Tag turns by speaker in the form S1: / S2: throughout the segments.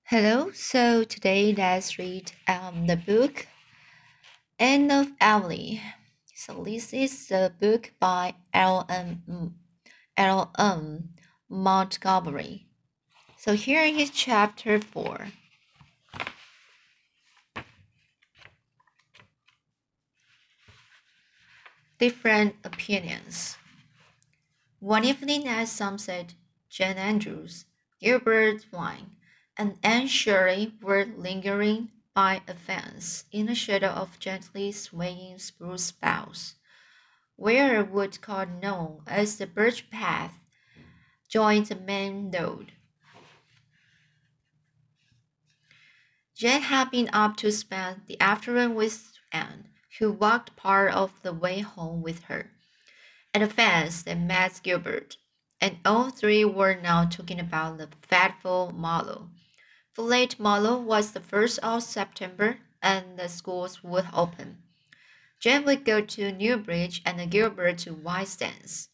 S1: Hello, so today let's read the book Anne of Emily. So this is the book by L.M. Montgomery. So here is chapter 4. Different Opinions. One evening at sunset, Jane Andrews, Gilbert Blythe, and Anne Shirley were lingering by a fence in the shadow of gently swaying spruce boughs, where a woodcut known as the birch path joined the main road. Jane had been up to spend the afternoon with Anne, who walked part of the way home with her. At the fence they met Gilbert, and all three were now talking about the fateful Marlowe. The late Marlowe was the 1st of September, and the schools would open. Jane would go to Newbridge and Gilbert to Whitestance.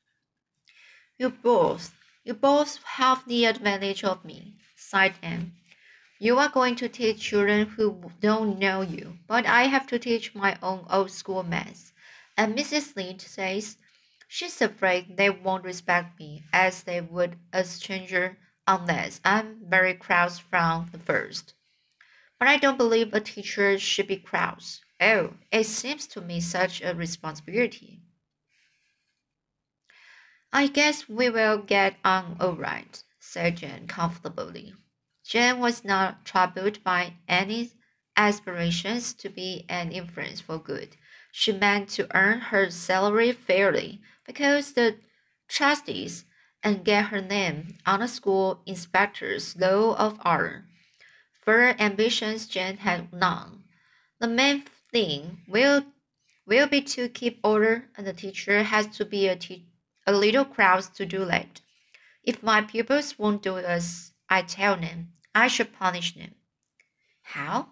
S1: You both have the advantage of me, sighed Anne. You are going to teach children who don't know you, but I have to teach my own old school maths. And Mrs. Lynde says she's afraid they won't respect me as they would a stranger unless I'm very cross from the first. But I don't believe a teacher should be cross. Oh, it seems to me such a responsibility. I guess we will get on all right, said Jane comfortably. Jane was not troubled by any aspirations to be an influence for good. She meant to earn her salary fairly because the trustees and get her name on the school inspector's roll of honor. Further ambitions Jane had none. The main thing will be to keep order, and the teacher has to be a little cross to do that. If my pupils won't do as I tell them, I shall punish them. How?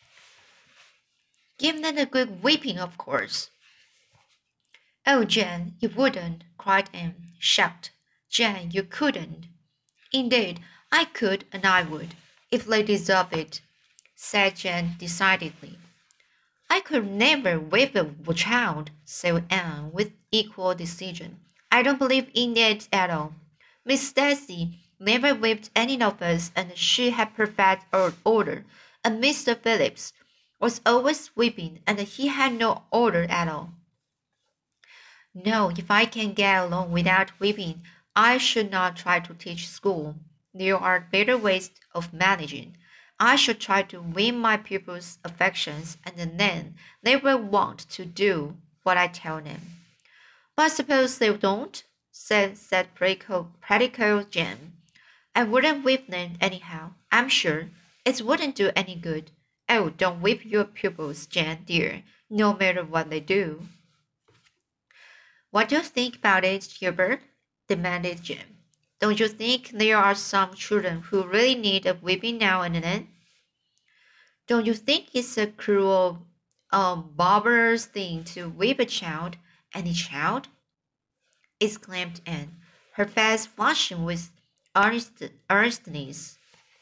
S1: Give them a good whipping, of course. Oh, Jane, you wouldn't, cried Anne, shocked. Jane, you couldn't. Indeed, I could and I would, if they deserve it, said Jane decidedly. I could never whip a child, said Anne with equal decision. I don't believe in it at all. Miss Stacy never whipped any of us, and she had perfect order. And Mr. Phillips was always whipping, and he had no order at all. No, if I can get along without whipping, I should not try to teach school. There are better ways of managing. I should try to win my pupils' affections, and then they will want to do what I tell them. But suppose they don't, said practical Jane. I wouldn't whip them anyhow, I'm sure. It wouldn't do any good. Oh, don't whip your pupils, Jane, dear, no matter what they do. What do you think about it, Gilbert? Demanded Jim. Don't you think there are some children who really need a whipping now and then? Don't you think it's a cruel, barbarous thing to whip a child, any child? Exclaimed Anne, her face flushing with earnestness.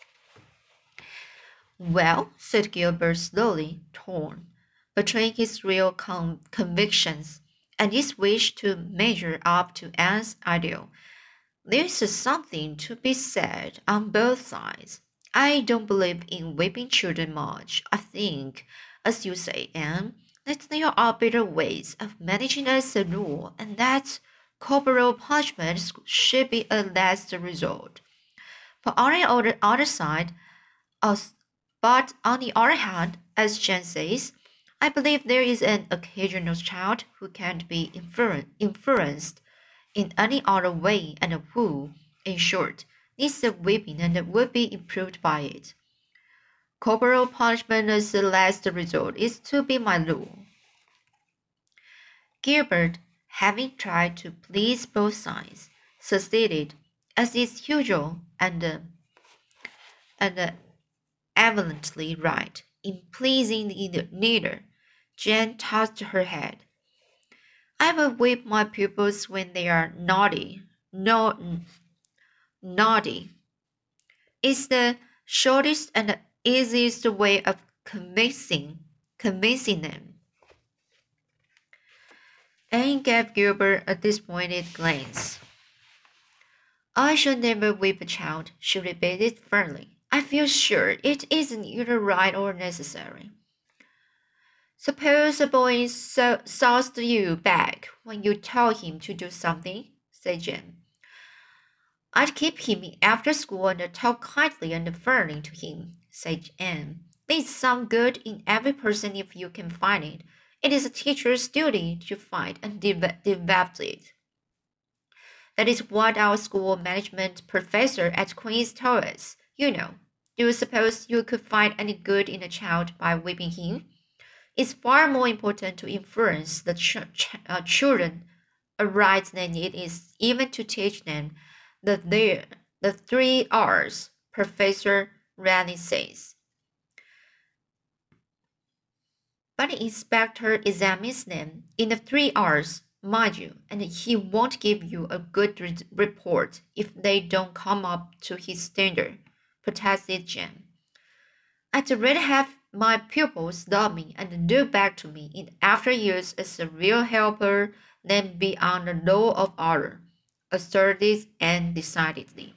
S1: Well, said Gilbert slowly, torn between his real convictions and his wish to measure up to Anne's ideal. There's something to be said on both sides. I don't believe in whipping children much. I think, as you say, Anne, that there are better ways of managing as a rule, and that corporal punishment should be a last resort. But on the other side, as but on the other hand, as Jen says, I believe there is an occasional child who can't be influenced in any other way and who, in short, needs a whipping and would be improved by it. Corporal punishment as the last resort is to be my rule. Gilbert, having tried to please both sides, succeeded, as is usual, and evidently right in pleasing neither. Jane tossed her head. I will whip my pupils when they are naughty. No, naughty. It's the shortest and easiest way of convincing them. Anne gave Gilbert a disappointed glance. I should never whip a child, she repeated firmly. I feel sure it isn't either right or necessary. Suppose a boy sauced you back when you tell him to do something, said Jane. I'd keep him after school and talk kindly and firmly to him, said Anne. There's some good in every person if you can find it. It is a teacher's duty to find and develop it. That is what our school management professor at Queen's told us. You know, do you suppose you could find any good in a child by whipping him? It's far more important to influence the children aright than it is even to teach them the 3 R's, Professor Rennie says. But the inspector examines them in the 3 R's, mind you, and he won't give you a good report if they don't come up to his standard, protested Jem. I'd rather have my pupils love me and look back to me in after years as a real helper than be on the law of order, asserted Anne decidedly.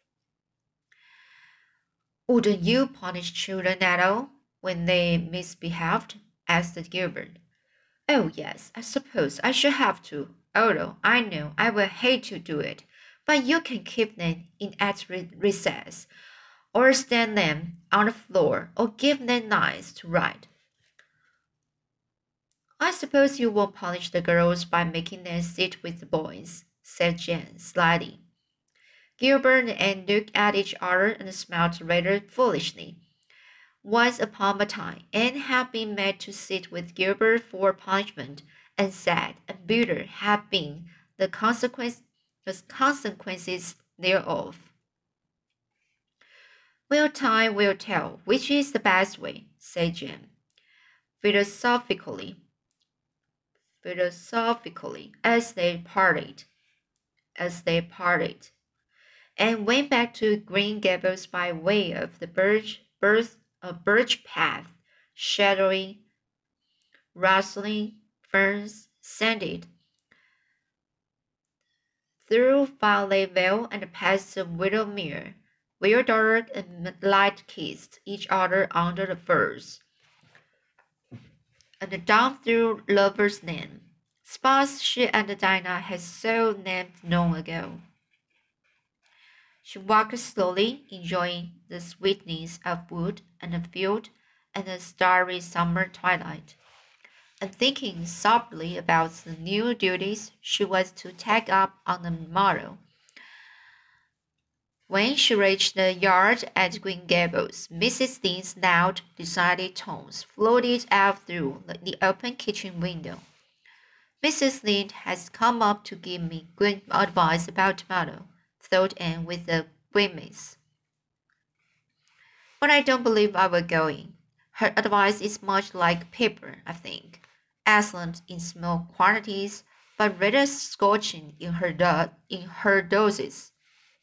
S1: Wouldn't you punish children at all when they misbehaved? Asked Gilbert. Oh, yes, I suppose I should have to, although I know I will hate to do it. But you can keep them in at recess, or stand them on the floor, or give them lines to write. I suppose you won't punish the girls by making them sit with the boys, said Jane slyly. Gilbert and Anne looked at each other and smiled rather foolishly. Once upon a time, Anne had been made to sit with Gilbert for punishment, and sad and bitter had been the consequences thereof. Well, time will tell which is the best way, said Jane, philosophically, as they parted, and went back to Green Gables by way of the birch path, shadowy, rustling ferns, scented, through Violet Vale and past the Widowmere, where dark and light kissed each other under the firs, and down through Lover's Lane, spots she and Dinah had so named long ago. She walked slowly, enjoying the sweetness of wood and field and the starry summer twilight, and thinking softly about the new duties she was to take up on the morrow. When she reached the yard at Green Gables, Mrs. Lynde's loud, decided tones floated out through the open kitchen window. Mrs. Lynde has come up to give me good advice about tomorrow, thought Anne with a grimace. But I don't believe I will go in. Her advice is much like pepper, I think, excellent in small quantities, but rather scorching in her doses.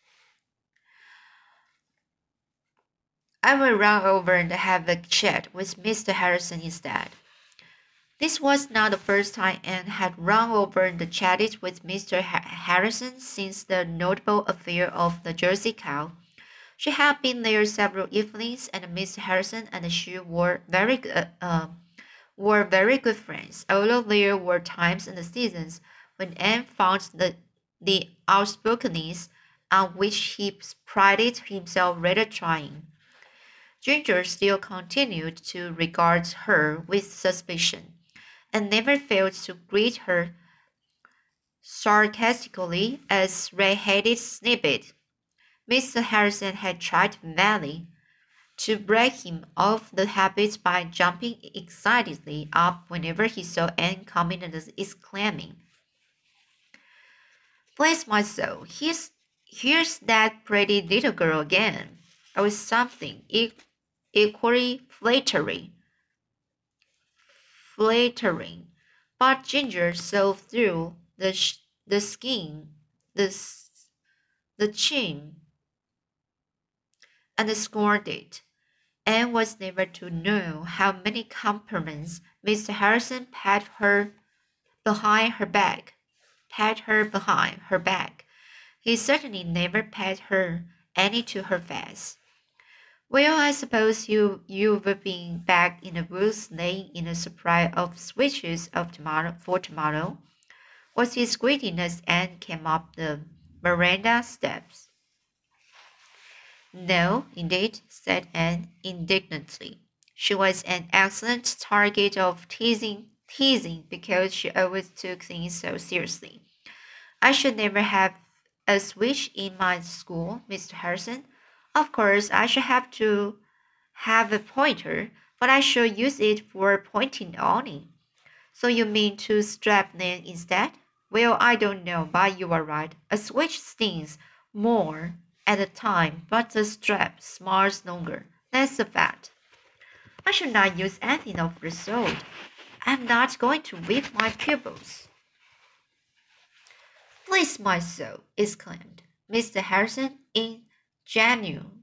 S1: I will run over and have a chat with Mr. Harrison instead. This was not the first time Anne had run over and chatted with Mr. Harrison since the notable affair of the Jersey cow. She had been there several evenings, and Mr. Harrison and she were very good friends, although there were times and seasons when Anne found the outspokenness on which he prided himself rather trying. Ginger still continued to regard her with suspicion, and never failed to greet her sarcastically as red-headed snippet. Mr. Harrison had tried vainly to break him of the habit by jumping excitedly up whenever he saw Anne coming and exclaiming, "Bless my soul, here's that pretty little girl again," or something equally flattering. But Ginger saw through the skin, the chin, and scorned it. Anne was never to know how many compliments Mr. Harrison paid her behind her back. Paid her behind her back. He certainly never paid her any to her face. Well, I suppose you've been back in the woods laying in a supply of switches of tomorrow, was his greeting as Anne came up the veranda steps. No, indeed, said Anne indignantly. She was an excellent target of teasing because she always took things so seriously. I should never have a switch in my school, Mr. Harrison. Of course, I should have to have a pointer, but I shall use it for pointing only. So you mean to strap them instead? Well, I don't know, but you are right. A switch stings more at a time, but the strap smarts longer. That's a fact. I should not use anything of the sort. I'm not going to whip my pupils. Bless my soul, exclaimed Mr. Harrison in genuine,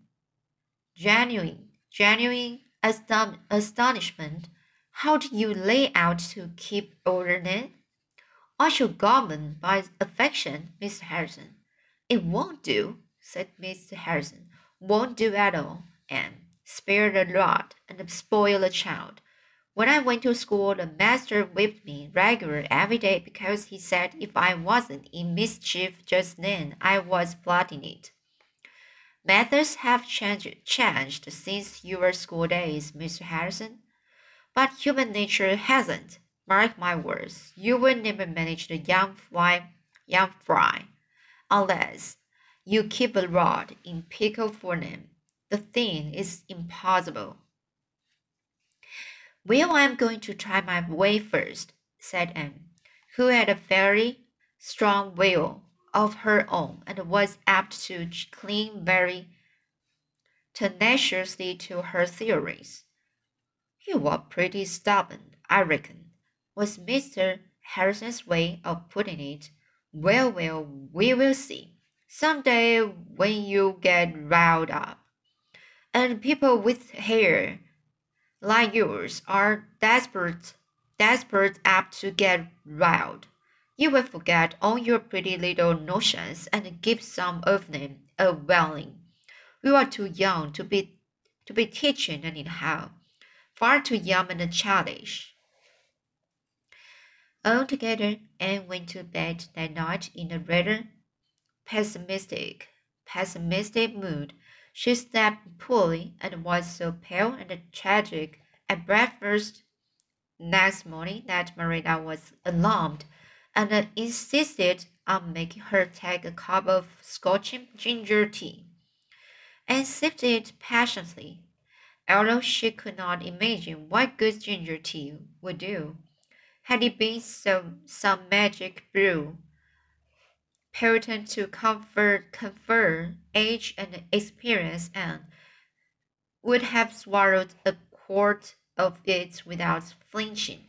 S1: genuine astonishment. How do you lay out to keep order then? I shall govern by affection, Mr. Harrison. It won't do, said Mr. Harrison. Won't do at all, and spare the rod and spoil the child. When I went to school, the master whipped me regular every day because he said if I wasn't in mischief just then, I was plotting it. Methods have changed since your school days, Mr. Harrison, but human nature hasn't. Mark my words, you will never manage the young fry, unless you keep a rod in pickle for them. The thing is impossible. Well, I'm going to try my way first, said Anne, who had a very strong will of her own and was apt to cling very tenaciously to her theories. You are pretty stubborn, I reckon, was Mr. Harrison's way of putting it. Well, we will see. Some day when you get riled up, and people with hair like yours are desperate apt to get riled. You will forget all your pretty little notions and give some of them a whirling. You are too young to be teaching anyhow, far too young and childish. Altogether, Anne went to bed that night in a rather pessimistic mood. She slept poorly and was so pale and tragic at breakfast next morning that Marina was alarmed and insisted on making her take a cup of scorching ginger tea, and sipped it passionately, although she could not imagine what good ginger tea would do. Had it been some magic brew, potent to confer age and experience, and would have swallowed a quart of it without flinching.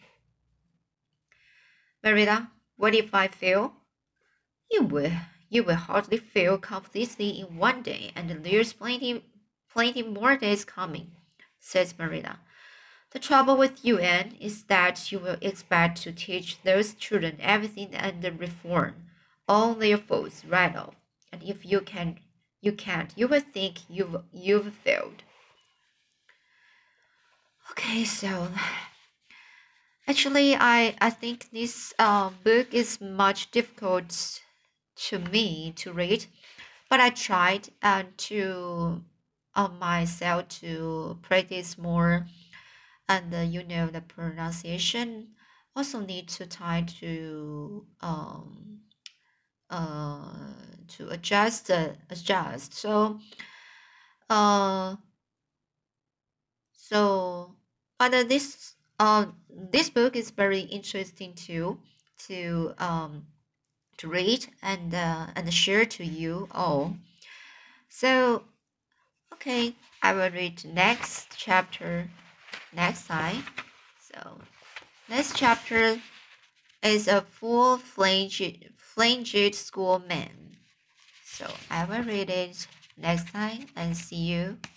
S1: Merida, what if I fail? You will. You will hardly fail completely in one day, and there's plenty more days coming, says Merida. The trouble with you, Anne, is that you will expect to teach those children everything under reform, all their faults right off. And if you can't, you will think you've failed. Okay, so actually, I think this book is much difficult to me to read, but I tried to myself to practice more, and the pronunciation also need to try to adjust. Uh so but this book is very interesting too to read and share to you all. So okay, I will read next chapter next time. So next chapter is a full-fledged schoolman. So I will read it next time and see you.